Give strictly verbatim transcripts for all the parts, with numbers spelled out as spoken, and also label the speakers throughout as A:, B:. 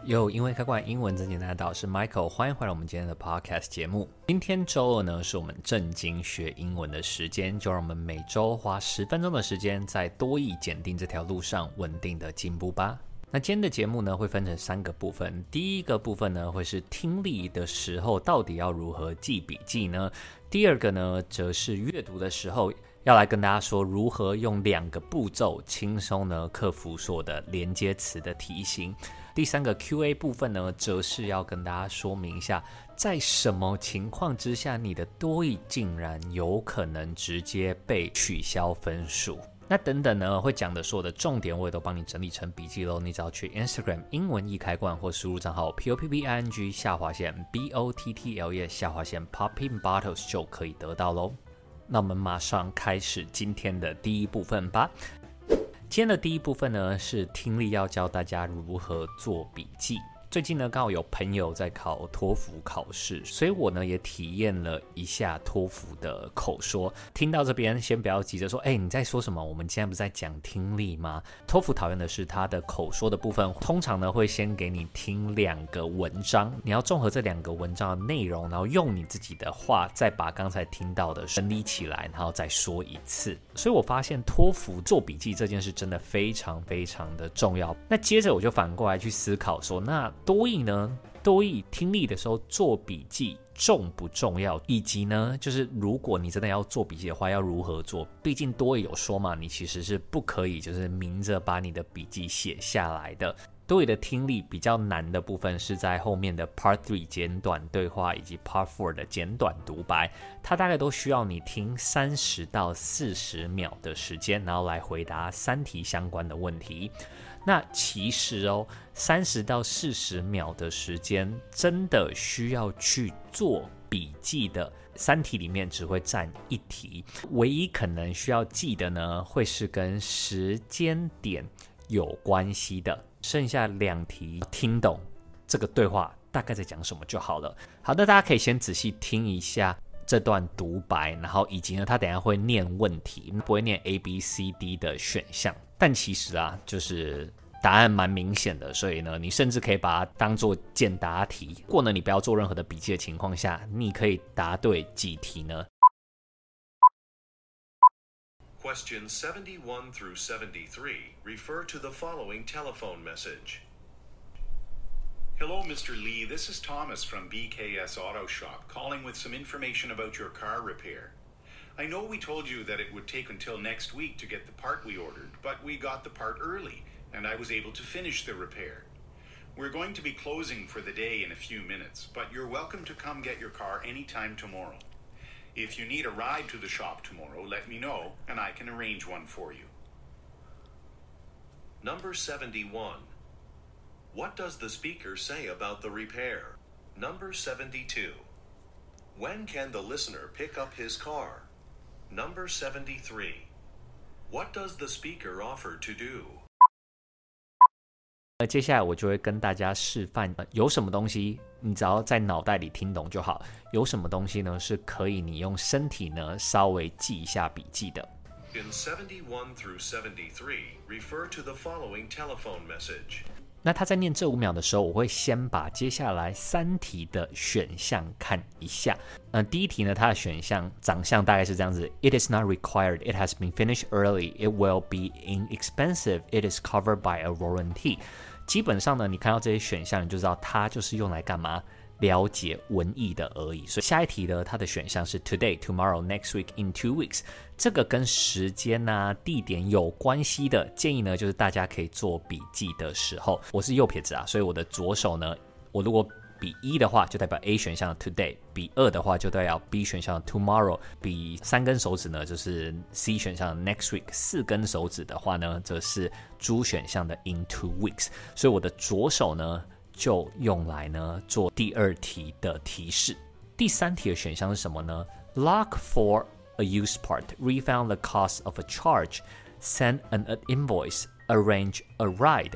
A: 有因為開罐英文真簡單的導師 Michael， 歡迎回來我們今天的 Podcast 節目。今天週二呢，是我們正經學英文的時間，就讓我們每週花十分鐘的時間，在多益檢定這條路上穩定的進步吧。那今天的節目呢，會分成三個部分。第一個部分呢，會是聽力的時候到底要如何記筆記呢？第二個呢，則是閱讀的時候，要來跟大家說如何用兩個步驟輕鬆呢克服所有的連接詞的題型。第三個 Q A 部分呢，則是要跟大家說明一下，在什麼情況之下，你的多益竟然有可能直接被取消分數。那等等呢，會講的所有的重點，我也都幫你整理成筆記嘍。你只要去 Instagram 英文易開罐，或輸入賬號 P O P P I N G 下劃線 B O T T L E 下劃線 Popping Bottles 就可以得到嘍。那我們馬上開始今天的第一部分吧。今天的第一部分呢，是聽力要教大家如何做筆記。最近呢，剛好有朋友在考托福考試，所以我呢也體驗了一下托福的口說。聽到這邊，先不要急着說，哎、欸，你在說什麼？我們今天不是在講聽力嗎？托福討厭的是它的口說的部分，通常呢會先給你聽兩個文章，你要綜合這兩個文章的內容，然後用你自己的話，再把剛才聽到的整理起來，然後再說一次。所以我發現托福做筆記這件事真的非常非常的重要。那接着我就反過來去思考說，那多益呢？多益聽力的時候做筆記重不重要？以及呢，就是如果你真的要做筆記的話，要如何做？畢竟多益有說嘛，你其實是不可以就是明着把你的筆記寫下來的。多益的聽力比較難的部分是在後面的 Part three 簡短對話以及 Part four 的簡短獨白，它大概都需要你聽三十到四十秒的時間，然後來回答三題相關的問題。那其實哦，三十到四十秒的時間真的需要去做筆記的，三題裡面只會佔一題，唯一可能需要記的呢，會是跟時間點有關係的，剩下兩題聽懂這個對話大概在講什麼就好了。好的，大家可以先仔細聽一下這段獨白，然後以及呢，他等一下會念問題，不會念 A B C D 的選項，但其實啊，就是答案蠻明顯的，所以呢，你甚至可以把它當做簡答題。不過呢，你不要做任何的筆記的情況下，你可以答對幾題呢？
B: Question seventy-one through seventy-three refer to the following telephone message.
C: Hello, Mister Lee. This is Thomas from B K S Auto Shop, calling with some information about your car repair. I know we told you that it would take until next week to get the part we ordered, but we got the part early, and I was able to finish the repair. We're going to be closing for the day in a few minutes, but you're welcome to come get your car anytime tomorrow. If you need a ride to the shop tomorrow, let me know, and I can arrange one for you.
B: Number seventy-one. What does the speaker say about the repair? Number seventy-two. When can the listener pick up his car? Number seventy-three. What does the speaker offer to do?
A: 那接下來我就會跟大家示範，有什麼東西你只要在腦袋裡聽懂就好，有什麼東西呢是可以你用身體呢稍微記一下筆記的。
B: In seventy-one through seventy-three, refer to the following telephone message.
A: 那他在念這五秒的時候，我會先把接下來三題的選項看一下。呃，第一題呢，它的選項長相大概是這樣子 ：It is not required. It has been finished early. It will be inexpensive. It is covered by a warranty. 基本上呢，你看到這些選項，你就知道它就是用來幹嘛？了解文意的而已。所以下一題呢，它的選項是 today, tomorrow, next week, in two weeks。這個跟時間啊、地點有關係的建議呢，就是大家可以做筆記的時候，我是右撇子啊，所以我的左手呢，我如果比一的話，就代表 A 選項的 today； 比二的話，就代表 B 選項的 tomorrow； 比三根手指呢，就是 C 選項的 next week； 四根手指的話呢，則是 D 選項的 in two weeks。所以我的左手呢，就用來呢做第二題的提示。第三題的選項是什麼呢？ Look for a used part, refund the cost of a charge, send an invoice, arrange a ride。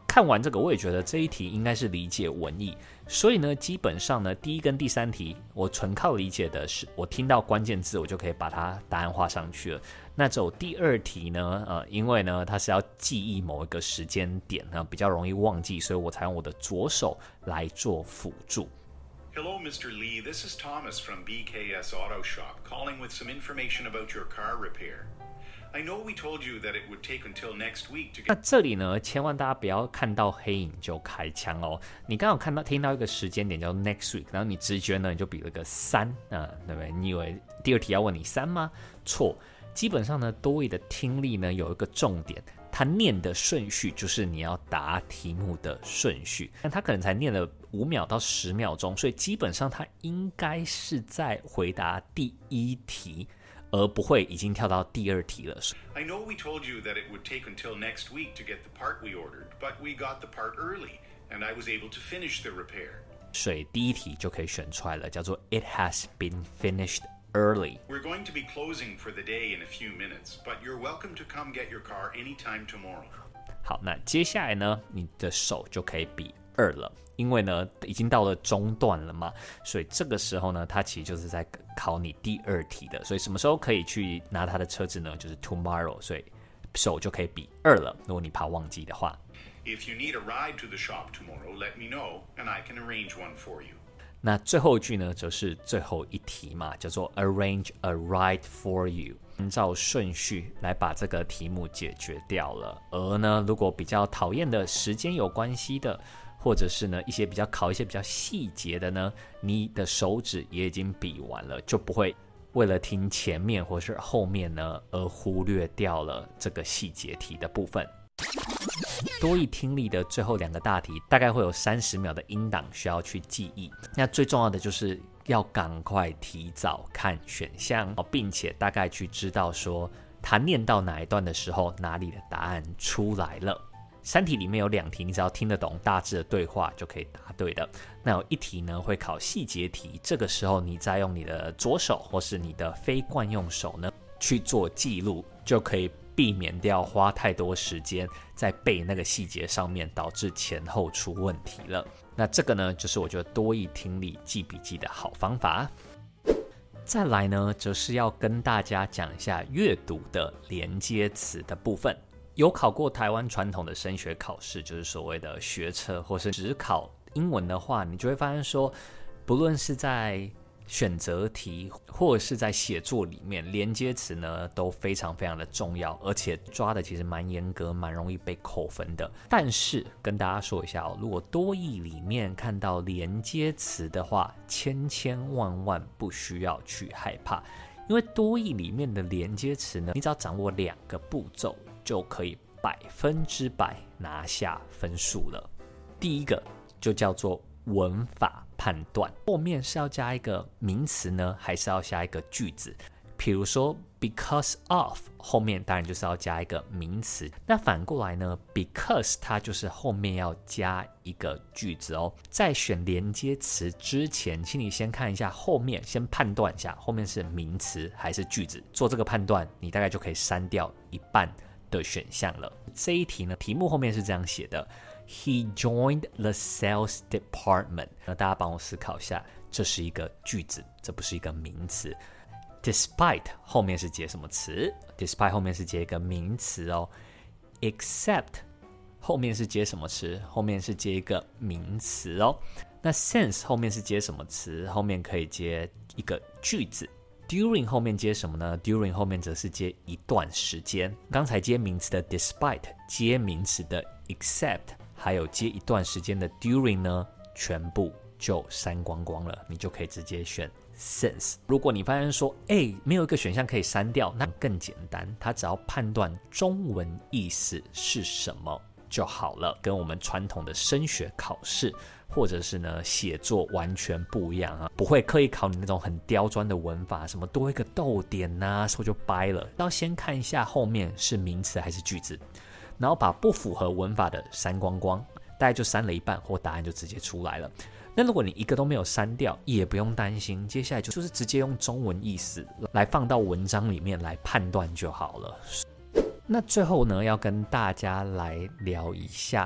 A: 看完這個，我也覺得這一題應該是理解文意，所以呢，基本上呢，第一跟第三題我純靠理解的是，我聽到關鍵字，我就可以把它答案畫上去了。那走第二題呢，呃，因為呢，它是要記憶某一個時間點呢，比較容易忘記，所以我才用我的左手來做輔助。
C: Hello, Mister Lee. This is Thomas from B K S Auto Shop, calling with some information about your car repair.I know we told you that it would take until next week to get...
A: 那這裡呢，千萬大家不要看到黑影就開槍哦。你剛好看到聽到一個時間點叫 next week， 然後你直覺呢你就比了個三，啊，對不對？你以為第二題要問你三嗎？錯，基本上呢，多益的聽力呢有一個重點，它念的順序就是你要答題目的順序，但它可能才念了五秒到十秒鐘，所以基本上它應該是在回答第一題。而不會已經跳到第二題了。
C: I know we told you that it would take until next week to get the part we ordered, but we got the part early, and I was able to finish the repair.
A: 所以第一題就可以選出來了，叫做 It has been finished early.
C: We're going to be closing for the day in a few minutes, but you're welcome to come get your car anytime tomorrow.
A: 好，那接下来呢，你的手就可以比二了。因為呢，已經到了中段了嘛，所以這個時候呢，它其實就是在考你第二題的。所以什麼時候可以去拿它的車子呢？就是 tomorrow， 所以手就可以比二了。如果你怕忘記的話。
C: If you need a ride to the shop tomorrow, let me know, and I can arrange one for you.
A: 那最後一句呢，則是最後一題嘛，叫做 arrange a ride for you， 按照順序來把這個題目解決掉了。而呢，如果比較討厭的時間有關係的，或者是呢一些比較考一些比較細節的呢，你的手指也已經比完了，就不會為了聽前面或是後面呢而忽略掉了這個細節題的部分。多益聽力的最後兩個大題大概會有三十秒的音檔需要去記憶，那最重要的就是要趕快提早看選項，並且大概去知道說他念到哪一段的時候哪裡的答案出來了。三題裡面有兩題，你只要聽得懂大致的對話就可以答對的。那有一題呢會考細節題，這個時候你再用你的左手或是你的非慣用手呢去做記錄，就可以避免掉花太多時間在背那個細節上面，導致前後出問題了。那這個呢就是我覺得多益聽力記筆記的好方法。再來呢則是要跟大家講一下閱讀的連接詞的部分。有考過台灣傳統的升學考試，就是所謂的學測，或是只考英文的話，你就會發現說，不論是在選擇題或者是在寫作裡面，連接詞呢都非常非常的重要，而且抓的其實蠻嚴格，蠻容易被扣分的。但是跟大家說一下哦，如果多益裡面看到連接詞的話，千千萬萬不需要去害怕，因為多益裡面的連接詞呢，你只要掌握兩個步驟，就可以百分之百拿下分數了。第一個就叫做文法判斷，後面是要加一個名詞呢，還是要加一個句子？比如說 because of 後面當然就是要加一個名詞，那反過來呢 because 它就是後面要加一個句子哦。在選連接詞之前，請你先看一下後面，先判斷一下後面是名詞還是句子，做這個判斷你大概就可以刪掉一半的選項了。這一題呢，題目後面是這樣寫的 He joined the sales department。那大家幫我思考一下，這是一個句子，這不是一個名詞。Despite 後面是接什麼詞？ Despite 後面是接一個名詞哦。Except 後面是接什麼詞？後面是接一個名詞哦。那 since 後面是接什麼詞？後面可以接一個句子。During 後面接什麼呢？ During 後面則是接一段時間。剛才接名詞的 despite， 接名詞的 except， 還有接一段時間的 during 呢，全部就刪光光了，你就可以直接選 since。 如果你發現說，哎，沒有一個選項可以刪掉，那更簡單，它只要判斷中文意思是什麼就好了，跟我們傳統的升學考試或者是呢寫作完全不一樣啊，不會刻意考你那種很刁鑽的文法，什麼多一個逗點啊，說就掰了。要先看一下後面是名詞還是句子，然後把不符合文法的刪光光，大概就刪了一半，或答案就直接出來了。那如果你一個都沒有刪掉，也不用擔心，接下來就是直接用中文意思來放到文章裡面來判斷就好了。那最後呢，要跟大家來聊一下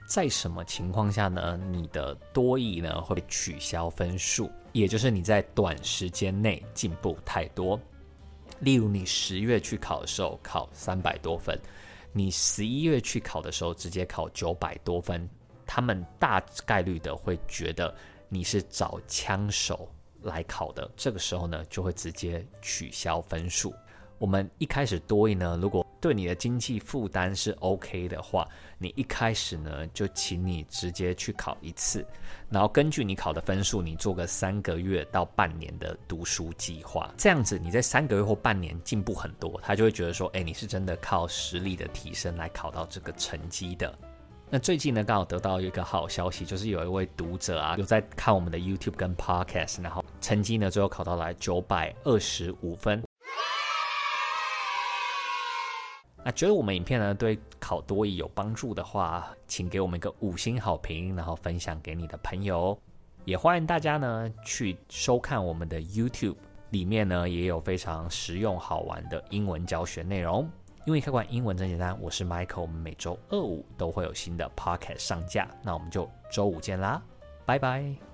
A: 在什麼情況下呢，你的多益呢會取消分數，也就是你在短時間內進步太多。例如你十月去考的時候考三百多分，你十一月去考的時候直接考九百多分，他們大概率的會覺得你是找槍手來考的，這個時候呢就會直接取消分數。我們一開始多益呢，如果對你的經濟負擔是 OK 的話，你一開始呢就請你直接去考一次，然後根據你考的分數，你做個三個月到半年的讀書計劃，這樣子你在三個月或半年進步很多，他就會覺得說，哎，你是真的靠實力的提升來考到這個成績的。那最近呢，剛好得到一個好消息，就是有一位讀者啊，有在看我們的 YouTube 跟 Podcast， 然後成績呢最後考到來九百二十五分。那覺得我們影片呢對考多益有幫助的話，請給我們一個五星好評，然後分享給你的朋友。也歡迎大家呢去收看我們的 YouTube， 裡面呢也有非常實用好玩的英文教學內容。因為開館英文真簡單，我是 Michael， 我們每周二五都會有新的 Podcast 上架，那我們就周五見啦，拜拜。